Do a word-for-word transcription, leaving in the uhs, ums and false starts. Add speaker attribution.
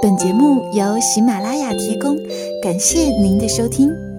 Speaker 1: 本节目由喜马拉雅提供，感谢您的收听。